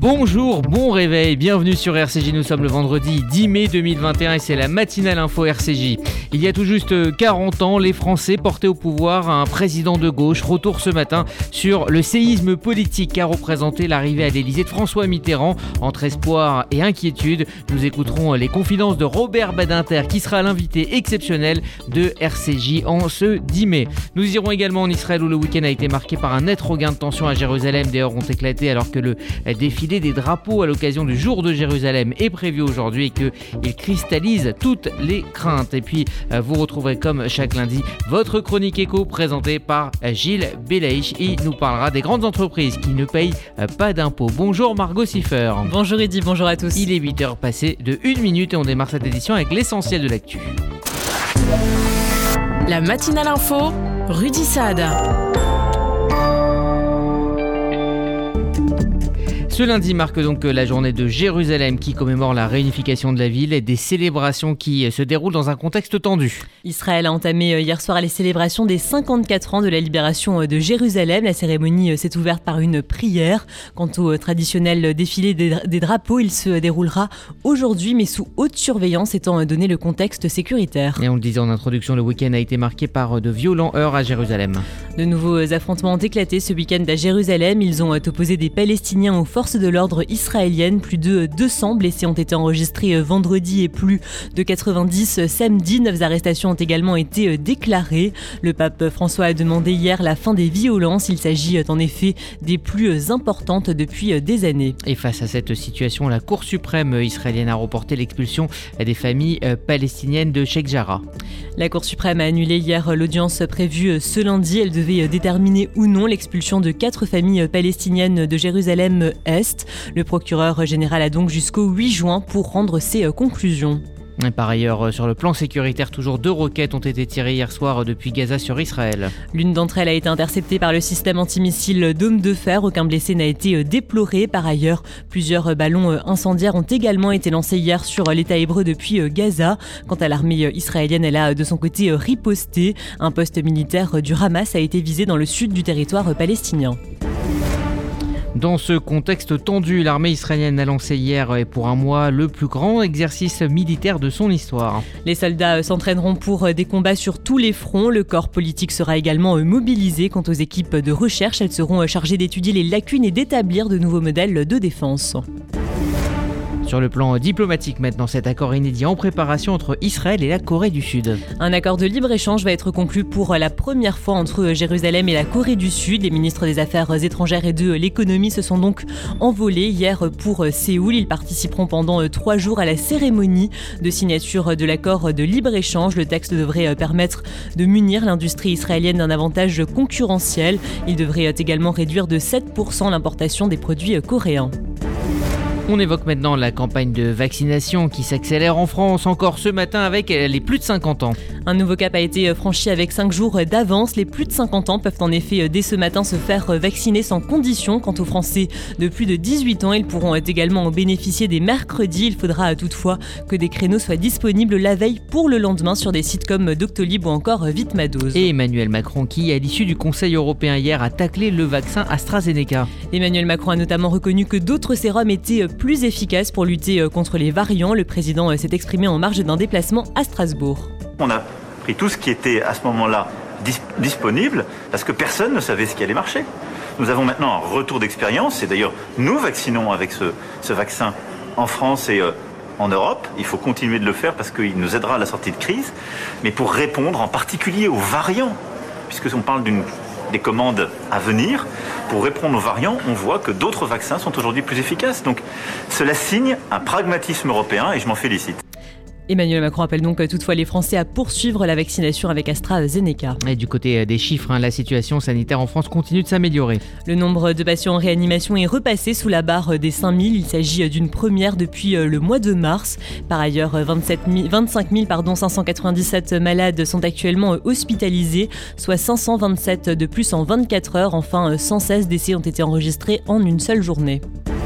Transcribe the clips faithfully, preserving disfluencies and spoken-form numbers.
Bonjour, bon réveil, bienvenue sur R C J, nous sommes le vendredi dix mai deux mille vingt et un et c'est la matinale info R C J. Il y a tout juste quarante ans, les Français portaient au pouvoir un président de gauche. Retour ce matin sur le séisme politique qu'a représenté l'arrivée à l'Elysée de François Mitterrand. Entre espoir et inquiétude, nous écouterons les confidences de Robert Badinter qui sera l'invité exceptionnel de R C J en ce dix mai. Nous irons également en Israël où le week-end a été marqué par un net regain de tension à Jérusalem. Des heurts ont éclaté alors que le défilé des drapeaux à l'occasion du jour de Jérusalem est prévu aujourd'hui et qu'il cristallise toutes les craintes. Et puis vous retrouverez comme chaque lundi votre chronique éco présentée par Gilles Belaïch. Il nous parlera des grandes entreprises qui ne payent pas d'impôts. Bonjour Margot Siffer. Bonjour Eddy, bonjour à tous. Il est huit heures passées de une minute et on démarre cette édition avec l'essentiel de l'actu. La matinale info, Rudy Saad. Ce lundi marque donc la journée de Jérusalem qui commémore la réunification de la ville et des célébrations qui se déroulent dans un contexte tendu. Israël a entamé hier soir les célébrations des cinquante-quatre ans de la libération de Jérusalem. La cérémonie s'est ouverte par une prière. Quant au traditionnel défilé des drapeaux, il se déroulera aujourd'hui mais sous haute surveillance étant donné le contexte sécuritaire. Et on le disait en introduction, le week-end a été marqué par de violents heurts à Jérusalem. De nouveaux affrontements ont éclaté ce week-end à Jérusalem. Ils ont opposé des Palestiniens aux forces de l'ordre israélienne. Plus de deux cents blessés ont été enregistrés vendredi et plus de quatre-vingt-dix samedi. Neuf arrestations ont également été déclarées. Le pape François a demandé hier la fin des violences. Il s'agit en effet des plus importantes depuis des années. Et face à cette situation, la Cour suprême israélienne a reporté l'expulsion des familles palestiniennes de Sheikh Jarrah. La Cour suprême a annulé hier l'audience prévue ce lundi. Elle devait déterminer ou non l'expulsion de quatre familles palestiniennes de Jérusalem-Est. Le procureur général a donc jusqu'au huit juin pour rendre ses conclusions. Et par ailleurs, sur le plan sécuritaire, toujours deux roquettes ont été tirées hier soir depuis Gaza sur Israël. L'une d'entre elles a été interceptée par le système antimissile Dôme de Fer. Aucun blessé n'a été déploré. Par ailleurs, plusieurs ballons incendiaires ont également été lancés hier sur l'État hébreu depuis Gaza. Quant à l'armée israélienne, elle a de son côté riposté. Un poste militaire du Hamas a été visé dans le sud du territoire palestinien. Dans ce contexte tendu, l'armée israélienne a lancé hier et pour un mois le plus grand exercice militaire de son histoire. Les soldats s'entraîneront pour des combats sur tous les fronts. Le corps politique sera également mobilisé. Quant aux équipes de recherche, elles seront chargées d'étudier les lacunes et d'établir de nouveaux modèles de défense. Sur le plan diplomatique maintenant, cet accord inédit en préparation entre Israël et la Corée du Sud. Un accord de libre-échange va être conclu pour la première fois entre Jérusalem et la Corée du Sud. Les ministres des Affaires étrangères et de l'économie se sont donc envolés hier pour Séoul. Ils participeront pendant trois jours à la cérémonie de signature de l'accord de libre-échange. Le texte devrait permettre de munir l'industrie israélienne d'un avantage concurrentiel. Il devrait également réduire de sept pour cent l'importation des produits coréens. On évoque maintenant la campagne de vaccination qui s'accélère en France encore ce matin avec les plus de cinquante ans. Un nouveau cap a été franchi avec cinq jours d'avance. Les plus de cinquante ans peuvent en effet dès ce matin se faire vacciner sans condition. Quant aux Français de plus de dix-huit ans, ils pourront également en bénéficier dès mercredi. Il faudra toutefois que des créneaux soient disponibles la veille pour le lendemain sur des sites comme Doctolib ou encore Vitmadose. Et Emmanuel Macron qui, à l'issue du Conseil européen hier, a taclé le vaccin AstraZeneca. Emmanuel Macron a notamment reconnu que d'autres sérums étaient plus efficace pour lutter contre les variants. Le président s'est exprimé en marge d'un déplacement à Strasbourg. On a pris tout ce qui était à ce moment-là dis- disponible parce que personne ne savait ce qui allait marcher. Nous avons maintenant un retour d'expérience et d'ailleurs nous vaccinons avec ce, ce vaccin en France et euh, en Europe. Il faut continuer de le faire parce qu'il nous aidera à la sortie de crise, mais pour répondre en particulier aux variants, puisqu'on parle d'une des commandes à venir, pour répondre aux variants, on voit que d'autres vaccins sont aujourd'hui plus efficaces. Donc cela signe un pragmatisme européen et je m'en félicite. Emmanuel Macron appelle donc toutefois les Français à poursuivre la vaccination avec AstraZeneca. Et du côté des chiffres, hein, la situation sanitaire en France continue de s'améliorer. Le nombre de patients en réanimation est repassé sous la barre des cinq mille. Il s'agit d'une première depuis le mois de mars. Par ailleurs, vingt-sept mille, vingt-cinq mille pardon, cinq cent quatre-vingt-dix-sept malades sont actuellement hospitalisés, soit cinq cent vingt-sept de plus en vingt-quatre heures. Enfin, cent seize décès ont été enregistrés en une seule journée.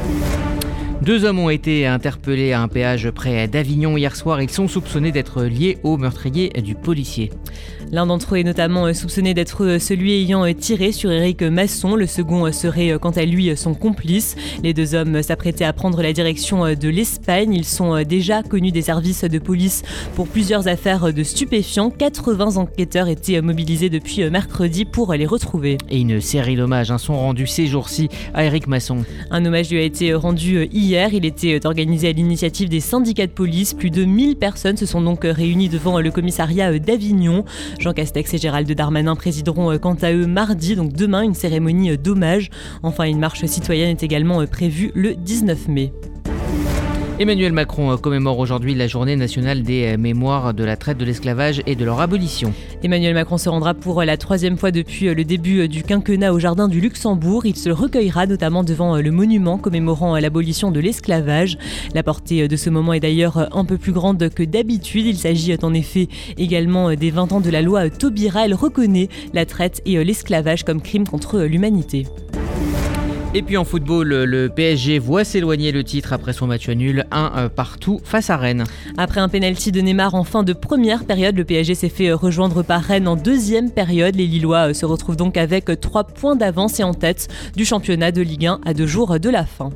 Deux hommes ont été interpellés à un péage près d'Avignon hier soir. Ils sont soupçonnés d'être liés au meurtrier du policier. L'un d'entre eux est notamment soupçonné d'être celui ayant tiré sur Éric Masson. Le second serait quant à lui son complice. Les deux hommes s'apprêtaient à prendre la direction de l'Espagne. Ils sont déjà connus des services de police pour plusieurs affaires de stupéfiants. quatre-vingts enquêteurs étaient mobilisés depuis mercredi pour les retrouver. Et une série d'hommages sont rendus ces jours-ci à Éric Masson. Un hommage lui a été rendu hier. Il était organisé à l'initiative des syndicats de police. Plus de mille personnes se sont donc réunies devant le commissariat d'Avignon. Jean Castex et Gérald Darmanin présideront quant à eux mardi, donc demain, une cérémonie d'hommage. Enfin, une marche citoyenne est également prévue le dix-neuf mai. Emmanuel Macron commémore aujourd'hui la journée nationale des mémoires de la traite de l'esclavage et de leur abolition. Emmanuel Macron se rendra pour la troisième fois depuis le début du quinquennat au Jardin du Luxembourg. Il se recueillera notamment devant le monument commémorant l'abolition de l'esclavage. La portée de ce moment est d'ailleurs un peu plus grande que d'habitude. Il s'agit en effet également des vingt ans de la loi Taubira. Elle reconnaît la traite et l'esclavage comme crime contre l'humanité. Et puis en football, le P S G voit s'éloigner le titre après son match nul un partout face à Rennes. Après un pénalty de Neymar en fin de première période, le P S G s'est fait rejoindre par Rennes en deuxième période. Les Lillois se retrouvent donc avec trois points d'avance et en tête du championnat de Ligue un à deux jours de la fin.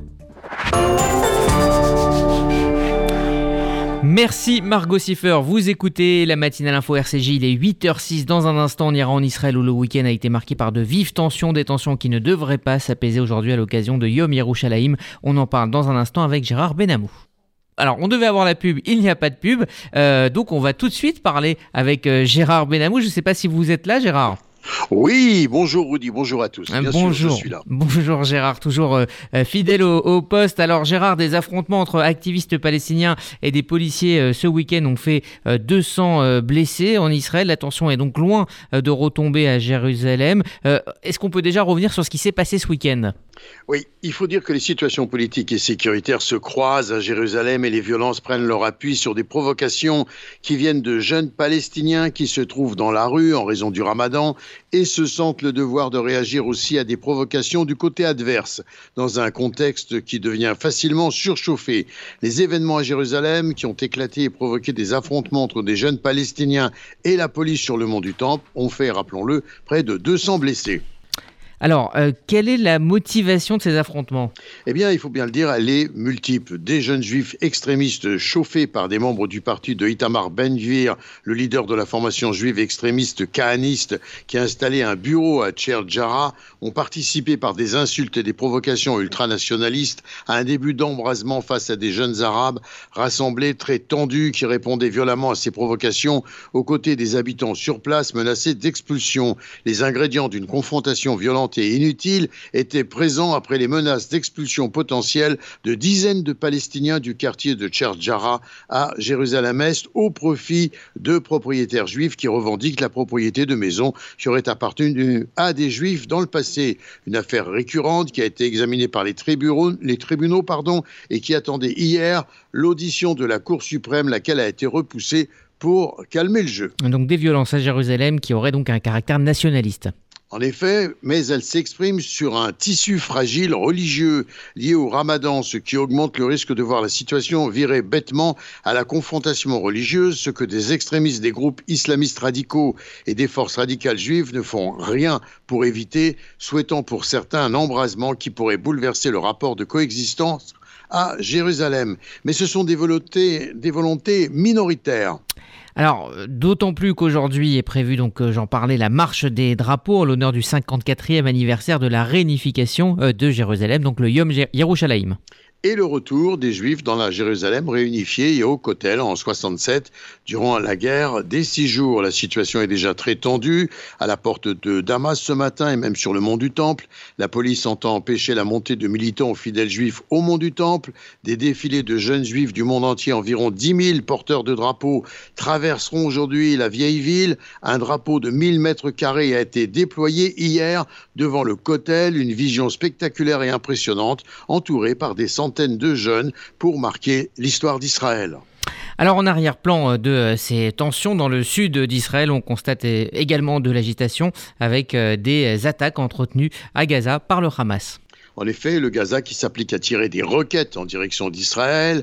Merci Margot Siffer, vous écoutez la matinale info R C J, il est huit heures six. Dans un instant, on ira en Israël où le week-end a été marqué par de vives tensions, des tensions qui ne devraient pas s'apaiser aujourd'hui à l'occasion de Yom Yerushalayim. On en parle dans un instant avec Gérard Benamou. Alors, on devait avoir la pub, il n'y a pas de pub, euh, donc on va tout de suite parler avec euh, Gérard Benamou. Je ne sais pas si vous êtes là, Gérard. Oui, bonjour Rudy, bonjour à tous. Bien bonjour, sûr, je suis là. Bonjour Gérard, toujours euh, fidèle au, au poste. Alors Gérard, des affrontements entre activistes palestiniens et des policiers euh, ce week-end ont fait euh, deux cents euh, blessés en Israël. La tension est donc loin euh, de retomber à Jérusalem. Euh, est-ce qu'on peut déjà revenir sur ce qui s'est passé ce week-end ? Oui, il faut dire que les situations politiques et sécuritaires se croisent à Jérusalem et les violences prennent leur appui sur des provocations qui viennent de jeunes Palestiniens qui se trouvent dans la rue en raison du Ramadan et se sentent le devoir de réagir aussi à des provocations du côté adverse, dans un contexte qui devient facilement surchauffé. Les événements à Jérusalem qui ont éclaté et provoqué des affrontements entre des jeunes Palestiniens et la police sur le mont du Temple ont fait, rappelons-le, près de deux cents blessés. Alors, euh, quelle est la motivation de ces affrontements ? Eh bien, il faut bien le dire, elle est multiple. Des jeunes juifs extrémistes chauffés par des membres du parti de Itamar Ben-Gvir, le leader de la formation juive extrémiste kahaniste qui a installé un bureau à Tchert Jarrah, ont participé par des insultes et des provocations ultranationalistes à un début d'embrasement face à des jeunes arabes rassemblés très tendus qui répondaient violemment à ces provocations aux côtés des habitants sur place menacés d'expulsion. Les ingrédients d'une confrontation violente et inutile étaient présents après les menaces d'expulsion potentielle de dizaines de Palestiniens du quartier de Tchert Jarrah à Jérusalem-Est au profit de propriétaires juifs qui revendiquent la propriété de maisons qui auraient appartenu à des juifs dans le passé. Une affaire récurrente qui a été examinée par les tribunaux, les tribunaux pardon, et qui attendait hier l'audition de la Cour suprême, laquelle a été repoussée pour calmer le jeu. Donc des violences à Jérusalem qui auraient donc un caractère nationaliste. En effet, mais elle s'exprime sur un tissu fragile religieux lié au Ramadan, ce qui augmente le risque de voir la situation virer bêtement à la confrontation religieuse, ce que des extrémistes des groupes islamistes radicaux et des forces radicales juives ne font rien pour éviter, souhaitant pour certains un embrasement qui pourrait bouleverser le rapport de coexistence à Jérusalem. Mais ce sont des volontés, des volontés minoritaires. Alors, d'autant plus qu'aujourd'hui est prévue, donc j'en parlais, la marche des drapeaux en l'honneur du cinquante-quatrième anniversaire de la réunification de Jérusalem, donc le Yom Yerushalayim. Et le retour des Juifs dans la Jérusalem réunifiée et au Kotel en soixante-sept, durant la guerre des six jours. La situation est déjà très tendue à la porte de Damas ce matin et même sur le mont du Temple. La police entend empêcher la montée de militants fidèles juifs au mont du Temple. Des défilés de jeunes juifs du monde entier, environ dix mille porteurs de drapeaux, traverseront aujourd'hui la vieille ville. Un drapeau de mille mètres carrés a été déployé hier devant le Kotel, une vision spectaculaire et impressionnante, entourée par des centaines de jeunes pour marquer l'histoire d'Israël. Alors en arrière-plan de ces tensions dans le sud d'Israël, on constate également de l'agitation avec des attaques entretenues à Gaza par le Hamas. En effet, le Gaza qui s'applique à tirer des roquettes en direction d'Israël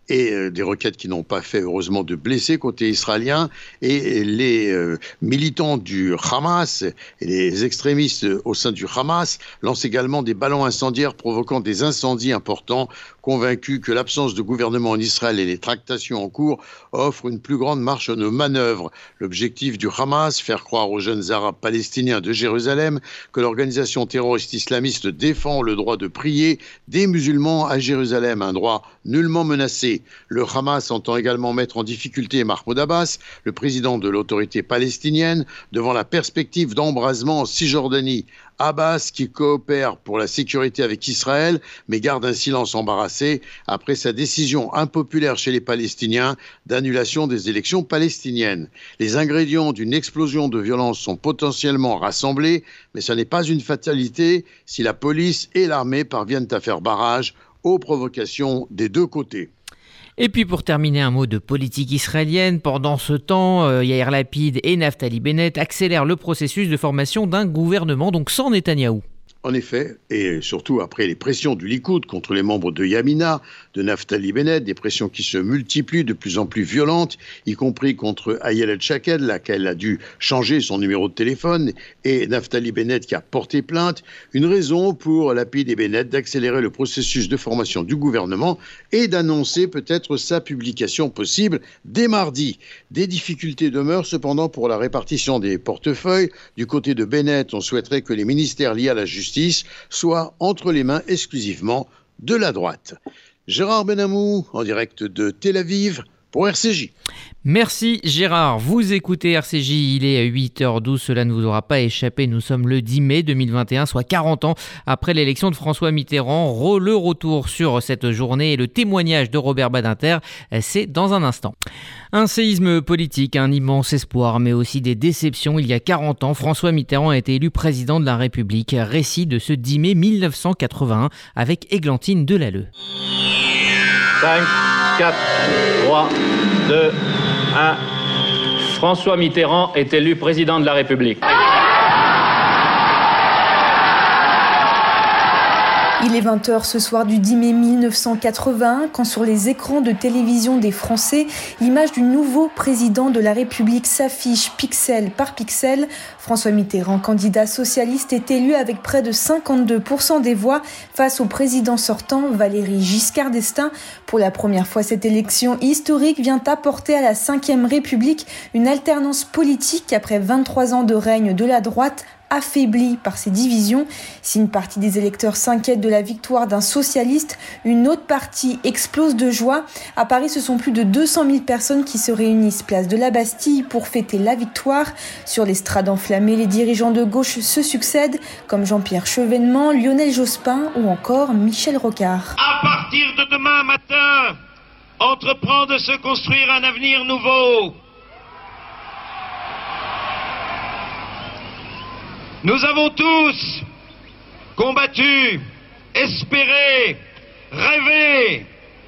et euh, des roquettes qui n'ont pas fait heureusement de blessés côté israélien. Et les euh, militants du Hamas et les extrémistes au sein du Hamas lancent également des ballons incendiaires provoquant des incendies importants, convaincus que l'absence de gouvernement en Israël et les tractations en cours offrent une plus grande marge de manœuvre. L'objectif du Hamas, faire croire aux jeunes arabes palestiniens de Jérusalem que l'organisation terroriste islamiste défend le droit de prier des musulmans à Jérusalem, un droit nullement menacé. Le Hamas entend également mettre en difficulté Mahmoud Abbas, le président de l'autorité palestinienne, devant la perspective d'embrasement en Cisjordanie. Abbas, qui coopère pour la sécurité avec Israël, mais garde un silence embarrassé après sa décision impopulaire chez les Palestiniens d'annulation des élections palestiniennes. Les ingrédients d'une explosion de violence sont potentiellement rassemblés, mais ce n'est pas une fatalité si la police et l'armée parviennent à faire barrage aux provocations des deux côtés. Et puis pour terminer, un mot de politique israélienne. Pendant ce temps, euh, Yair Lapid et Naftali Bennett accélèrent le processus de formation d'un gouvernement, donc sans Netanyahou. En effet, et surtout après les pressions du Likoud contre les membres de Yamina, de Naftali Bennett, des pressions qui se multiplient, de plus en plus violentes, y compris contre Ayelet Shaked, laquelle a dû changer son numéro de téléphone, et Naftali Bennett qui a porté plainte, une raison pour Lapid et Bennett d'accélérer le processus de formation du gouvernement et d'annoncer peut-être sa publication possible dès mardi. Des difficultés demeurent cependant pour la répartition des portefeuilles. Du côté de Bennett, on souhaiterait que les ministères liés à la justice soit entre les mains exclusivement de la droite. Gérard Benamou, en direct de Tel Aviv, pour R C J. Merci Gérard, vous écoutez R C J, il est huit heures douze, cela ne vous aura pas échappé, nous sommes le dix mai deux mille vingt et un, soit quarante ans après l'élection de François Mitterrand. Le retour sur cette journée et le témoignage de Robert Badinter, c'est dans un instant. Un séisme politique, un immense espoir, mais aussi des déceptions. Il y a quarante ans, François Mitterrand a été élu président de la République. Récit de ce dix mai mille neuf cent quatre-vingt-un avec Églantine Delalleux. cinq, quatre, trois, deux, un. François Mitterrand est élu président de la République. Il est vingt heures ce soir du dix mai mille neuf cent quatre-vingt-un quand sur les écrans de télévision des Français, l'image du nouveau président de la République s'affiche pixel par pixel. François Mitterrand, candidat socialiste, est élu avec près de cinquante-deux pour cent des voix face au président sortant Valéry Giscard d'Estaing. Pour la première fois, cette élection historique vient apporter à la cinquième République une alternance politique après vingt-trois ans de règne de la droite, affaibli par ces divisions. Si une partie des électeurs s'inquiète de la victoire d'un socialiste, une autre partie explose de joie. À Paris, ce sont plus de deux cent mille personnes qui se réunissent place de la Bastille pour fêter la victoire. Sur l'estrade enflammée, les dirigeants de gauche se succèdent, comme Jean-Pierre Chevènement, Lionel Jospin ou encore Michel Rocard. À partir de demain matin, entreprend de se construire un avenir nouveau. Nous avons tous combattu, espéré, rêvé.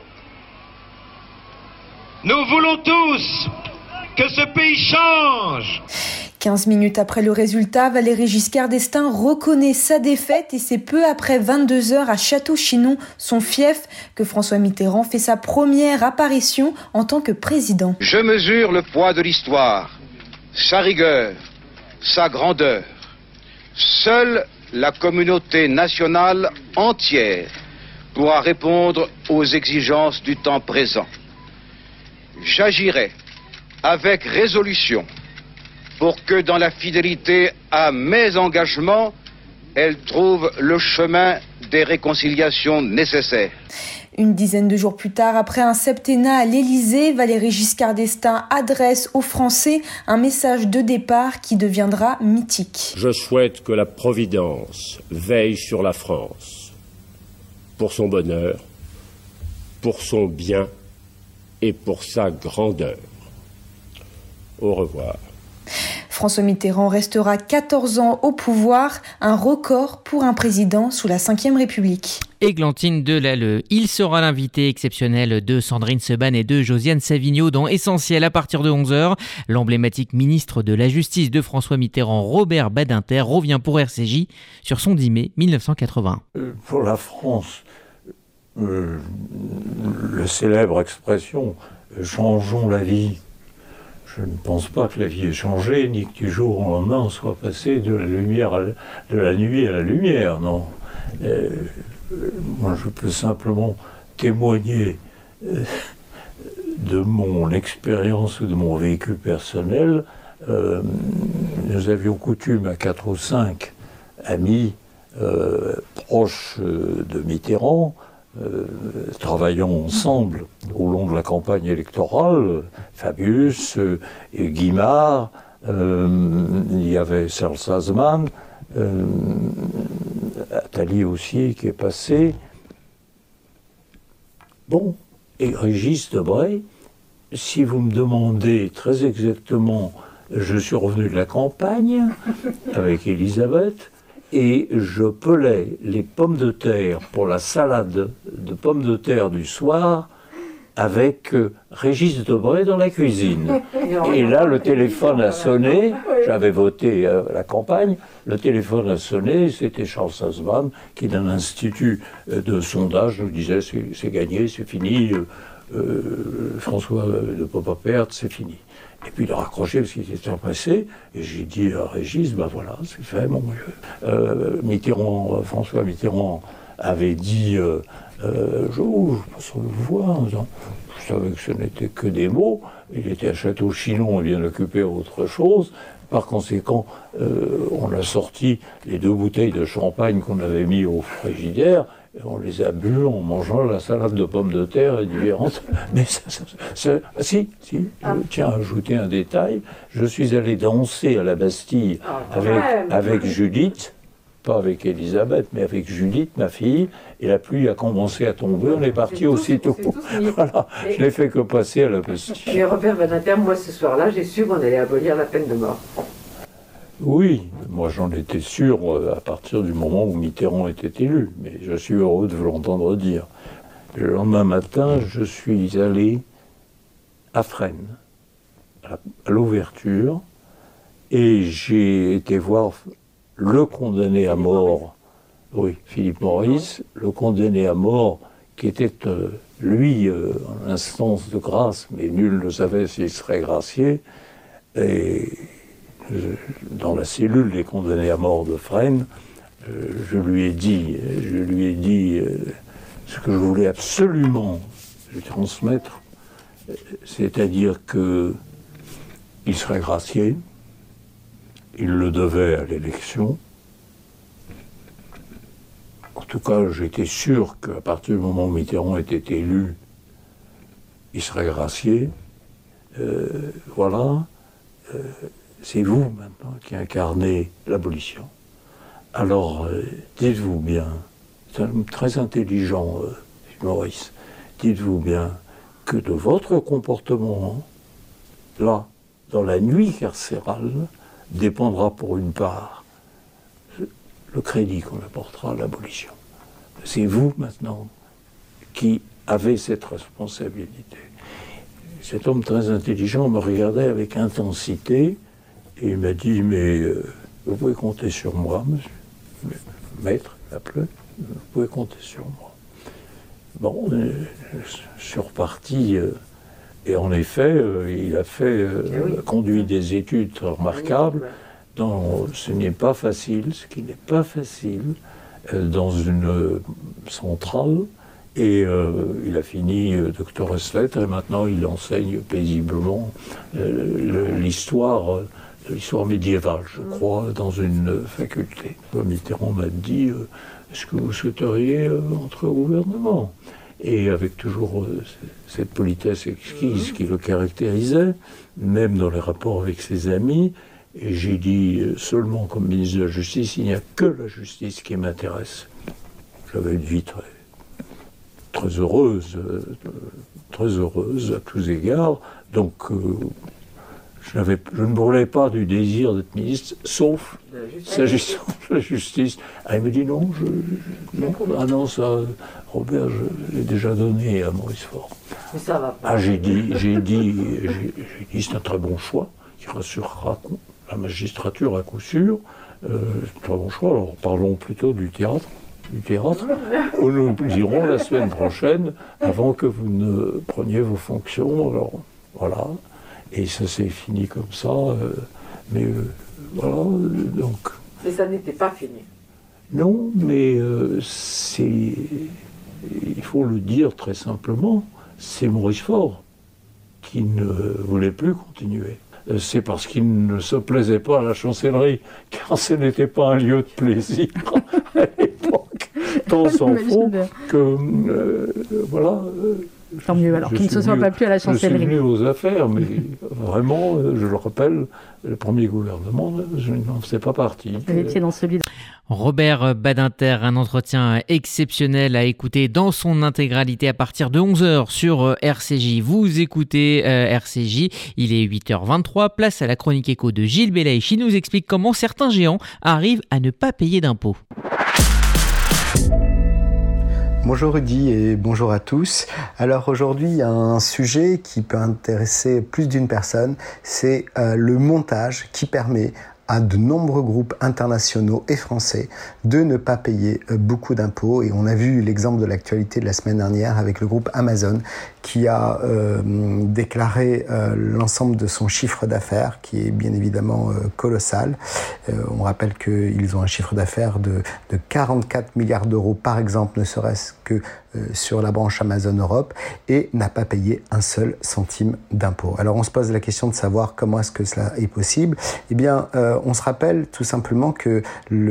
Nous voulons tous que ce pays change. quinze minutes après le résultat, Valéry Giscard d'Estaing reconnaît sa défaite et c'est peu après vingt-deux heures à Château-Chinon, son fief, que François Mitterrand fait sa première apparition en tant que président. Je mesure le poids de l'histoire, sa rigueur, sa grandeur. Seule la communauté nationale entière pourra répondre aux exigences du temps présent. J'agirai avec résolution pour que dans la fidélité à mes engagements, elle trouve le chemin des réconciliations nécessaires. Une dizaine de jours plus tard, après un septennat à l'Élysée, Valéry Giscard d'Estaing adresse aux Français un message de départ qui deviendra mythique. Je souhaite que la Providence veille sur la France, pour son bonheur, pour son bien et pour sa grandeur. Au revoir. François Mitterrand restera quatorze ans au pouvoir, un record pour un président sous la cinquième République. Églantine Delalleux. Il sera l'invité exceptionnel de Sandrine Seban et de Josiane Savigno dans Essentiel à partir de onze heures. L'emblématique ministre de la Justice de François Mitterrand, Robert Badinter, revient pour R C J sur son dix mai mille neuf cent quatre-vingt. Pour la France, euh, la célèbre expression « changeons la vie ». Je ne pense pas que la vie ait changé, ni que du jour au lendemain on soit passé de la lumière, à la, de la nuit à la lumière, non. Euh, moi, je peux simplement témoigner euh, de mon expérience ou de mon vécu personnel. Euh, nous avions coutume à quatre ou cinq amis euh, proches euh, de Mitterrand, Euh, travaillant ensemble au long de la campagne électorale, Fabius, euh, et Guimard, euh, il y avait Serge Sazman, euh, Attali aussi qui est passé. Bon, et Régis Debray, si vous me demandez très exactement, je suis revenu de la campagne avec Elisabeth, et je pelais les pommes de terre pour la salade de pommes de terre du soir avec euh, Régis Debray dans la cuisine. Et là, le téléphone a sonné, j'avais voté à la campagne, le téléphone a sonné, c'était Charles Sazman qui, d'un institut de sondage, nous disait « c'est gagné, c'est fini, euh, euh, François ne peut pas perdre, c'est fini ». Et puis il a raccroché parce qu'il était pressé, et j'ai dit à Régis, ben voilà, c'est fait, mon vieux. Euh, Mitterrand, François Mitterrand avait dit, euh, euh, je, oh, je passe le voir, je savais que ce n'était que des mots, il était à Château-Chinon et bien occupé à autre chose. Par conséquent, euh, on a sorti les deux bouteilles de champagne qu'on avait mis au frigidaire, et on les a bu en mangeant la salade de pommes de terre et différentes. Mais ça, ça, ça, si, si, je tiens à ajouter un détail. Je suis allé danser à la Bastille avec, avec Judith, pas avec Elisabeth, mais avec Judith, ma fille, et la pluie a commencé à tomber, on est parti aussitôt. Voilà, je n'ai fait que passer à la Bastille. Mais Robert Badinter, moi ce soir-là, j'ai su qu'on allait abolir la peine de mort. Oui, moi j'en étais sûr à partir du moment où Mitterrand était élu, mais je suis heureux de vous l'entendre dire. Le lendemain matin, je suis allé à Fresnes, à l'ouverture, et j'ai été voir le condamné à mort, oui, Philippe Maurice, le condamné à mort qui était, euh, lui, euh, en instance de grâce, mais nul ne savait s'il serait gracié, et dans la cellule des condamnés à mort de Fresnes, euh, je lui ai dit, je lui ai dit euh, ce que je voulais absolument lui transmettre, c'est-à-dire que il serait gracié, il le devait à l'élection. En tout cas, j'étais sûr qu'à partir du moment où Mitterrand était élu, il serait gracié. Euh, voilà. Euh, C'est vous, maintenant, qui incarnez l'abolition. Alors, euh, dites-vous bien, c'est un homme très intelligent, euh, Maurice, dites-vous bien que de votre comportement, là, dans la nuit carcérale, dépendra pour une part le crédit qu'on apportera à l'abolition. C'est vous, maintenant, qui avez cette responsabilité. Cet homme très intelligent me regardait avec intensité, et il m'a dit, mais euh, vous pouvez compter sur moi, monsieur. Maître, appelez, vous pouvez compter sur moi. Bon, euh, je suis reparti, euh, et en effet, euh, il a fait, euh, oui. conduit des études remarquables. Dans, ce n'est pas facile, ce qui n'est pas facile, euh, dans une euh, centrale. Et euh, il a fini euh, docteur ès lettres, et maintenant il enseigne paisiblement euh, l'histoire. Euh, l'histoire médiévale, je crois, dans une faculté. Mitterrand m'a dit euh, « Est-ce que vous souhaiteriez euh, entrer au gouvernement ?» Et avec toujours euh, cette politesse exquise qui le caractérisait, même dans les rapports avec ses amis, et j'ai dit euh, seulement comme ministre de la Justice, il n'y a que la justice qui m'intéresse. J'avais une vie très, très heureuse, euh, très heureuse à tous égards, donc... Euh, Je, je ne brûlais pas du désir d'être ministre, sauf s'agissant de la justice. Ah, il me dit non, je, je, non, ah non, ça, Robert, je l'ai déjà donné à Maurice Faure. Mais ça va pas. Ah, j'ai dit, j'ai dit, j'ai, j'ai dit, c'est un très bon choix, qui rassurera la magistrature à coup sûr. Euh, c'est un très bon choix, alors parlons plutôt du théâtre. du théâtre, où nous irons la semaine prochaine, avant que vous ne preniez vos fonctions. Alors, voilà. Et ça s'est fini comme ça. Euh, mais euh, voilà, donc... Mais ça n'était pas fini. Non, mais euh, c'est... Il faut le dire très simplement, c'est Maurice Faure qui ne voulait plus continuer. C'est parce qu'il ne se plaisait pas à la chancellerie, car ce n'était pas un lieu de plaisir à l'époque. Tant s'en faut que, euh, voilà... Euh, Tant mieux, alors qu'il ne se soit pas plus à la chancellerie. Je suis venu aux affaires, mais vraiment, je le rappelle, le premier gouvernement, je n'en faisais pas partie. Vous étiez dans celui de... Robert Badinter, un entretien exceptionnel à écouter dans son intégralité à partir de onze heures sur R C J. Vous écoutez euh, R C J, il est huit heures vingt-trois, place à la chronique éco de Gilles Belaïch. Il nous explique comment certains géants arrivent à ne pas payer d'impôts. Bonjour Rudy et bonjour à tous. Alors aujourd'hui, il y a un sujet qui peut intéresser plus d'une personne, c'est euh, le montage qui permet à de nombreux groupes internationaux et français de ne pas payer beaucoup d'impôts. Et on a vu l'exemple de l'actualité de la semaine dernière avec le groupe Amazon qui a euh, déclaré euh, l'ensemble de son chiffre d'affaires, qui est bien évidemment euh, colossal. Euh, on rappelle qu'ils ont un chiffre d'affaires de, de quarante-quatre milliards d'euros par exemple, ne serait-ce que euh, sur la branche Amazon Europe, et n'a pas payé un seul centime d'impôt. Alors on se pose la question de savoir comment est-ce que cela est possible. Eh bien, euh, on se rappelle tout simplement que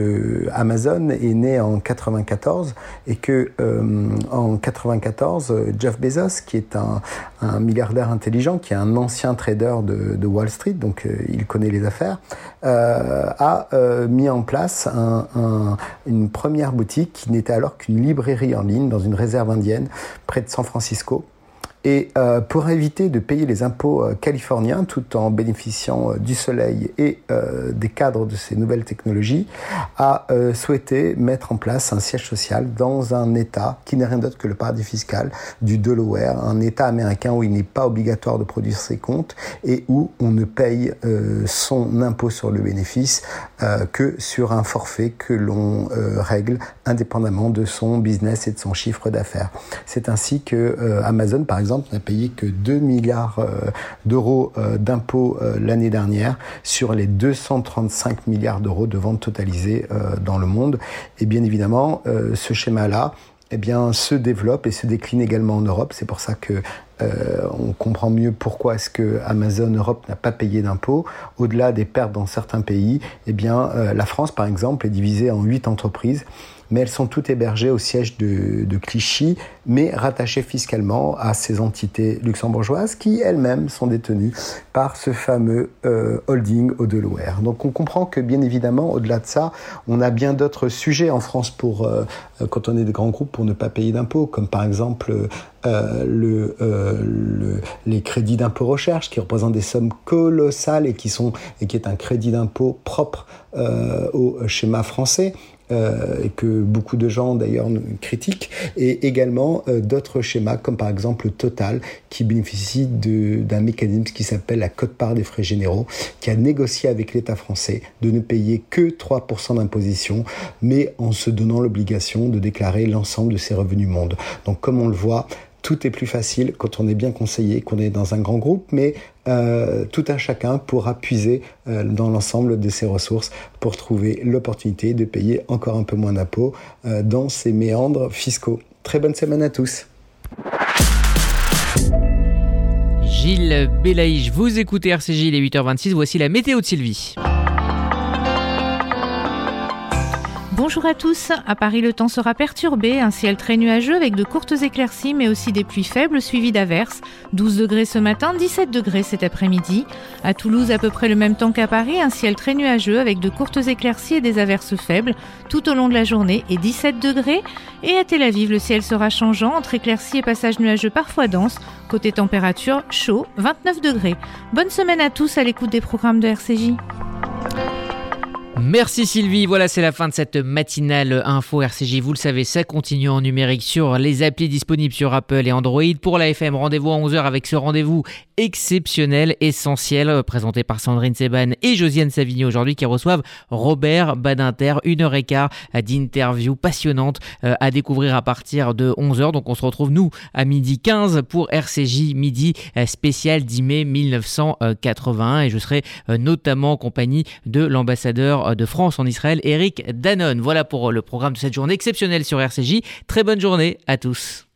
le Amazon est né en quatre-vingt-quatorze et que euh, en quatre-vingt-quatorze, Jeff Bezos, qui est un, un milliardaire intelligent, qui est un ancien trader de, de Wall Street, donc euh, il connaît les affaires, euh, a euh, mis en place un, un, une première boutique qui n'était alors qu'une librairie en ligne dans une réserve indienne près de San Francisco. Et euh, pour éviter de payer les impôts euh, californiens tout en bénéficiant euh, du soleil et euh, des cadres de ces nouvelles technologies, a euh, souhaité mettre en place un siège social dans un État qui n'est rien d'autre que le paradis fiscal du Delaware, un État américain où il n'est pas obligatoire de produire ses comptes et où on ne paye euh, son impôt sur le bénéfice euh, que sur un forfait que l'on euh, règle indépendamment de son business et de son chiffre d'affaires. C'est ainsi que euh, Amazon, par exemple, n'a payé que deux milliards euh, d'euros euh, d'impôts euh, l'année dernière sur les deux cent trente-cinq milliards d'euros de ventes totalisées euh, dans le monde. Et bien évidemment, euh, ce schéma-là eh bien, se développe et se décline également en Europe. C'est pour ça que Euh, on comprend mieux pourquoi est-ce que Amazon Europe n'a pas payé d'impôts. Au-delà des pertes dans certains pays, eh bien, euh, la France, par exemple, est divisée en huit entreprises, mais elles sont toutes hébergées au siège de, de Clichy, mais rattachées fiscalement à ces entités luxembourgeoises qui, elles-mêmes, sont détenues par ce fameux euh, holding au Delaware. Donc on comprend que, bien évidemment, au-delà de ça, on a bien d'autres sujets en France pour, euh, quand on est des grands groupes, pour ne pas payer d'impôts, comme par exemple euh, le... Euh, Le, les crédits d'impôt recherche qui représentent des sommes colossales et qui sont et qui est un crédit d'impôt propre euh, au schéma français euh, et que beaucoup de gens d'ailleurs critiquent, et également euh, d'autres schémas comme par exemple Total qui bénéficie de, d'un mécanisme qui s'appelle la quote-part des frais généraux, qui a négocié avec l'État français de ne payer que trois pour cent d'imposition, mais en se donnant l'obligation de déclarer l'ensemble de ses revenus mondes. Donc comme on le voit, tout est plus facile quand on est bien conseillé, qu'on est dans un grand groupe, mais euh, tout un chacun pourra puiser euh, dans l'ensemble de ses ressources pour trouver l'opportunité de payer encore un peu moins d'impôts euh, dans ces méandres fiscaux. Très bonne semaine à tous. Gilles Belaïch, vous écoutez R C J, il est huit heures vingt-six, voici la météo de Sylvie. Bonjour à tous. À Paris, le temps sera perturbé, un ciel très nuageux avec de courtes éclaircies mais aussi des pluies faibles suivies d'averses. douze degrés ce matin, dix-sept degrés cet après-midi. À Toulouse, à peu près le même temps qu'à Paris, un ciel très nuageux avec de courtes éclaircies et des averses faibles tout au long de la journée et dix-sept degrés. Et à Tel Aviv, le ciel sera changeant entre éclaircies et passages nuageux parfois denses. Côté température, chaud, vingt-neuf degrés. Bonne semaine à tous à l'écoute des programmes de R C J. Merci Sylvie, voilà c'est la fin de cette matinale info R C J. Vous le savez, ça continue en numérique sur les applis disponibles sur Apple et Android. Pour la F M, rendez-vous à onze heures avec ce rendez-vous exceptionnel, essentiel, présenté par Sandrine Seban et Josiane Savigny aujourd'hui, qui reçoivent Robert Badinter. Une heure et quart d'interview passionnante à découvrir à partir de onze heures. Donc on se retrouve nous à midi quinze pour R C J Midi spécial dix mai mille neuf cent quatre-vingt-un et je serai notamment en compagnie de l'ambassadeur de France en Israël, Eric Danon. Voilà pour le programme de cette journée exceptionnelle sur R C J. Très bonne journée à tous.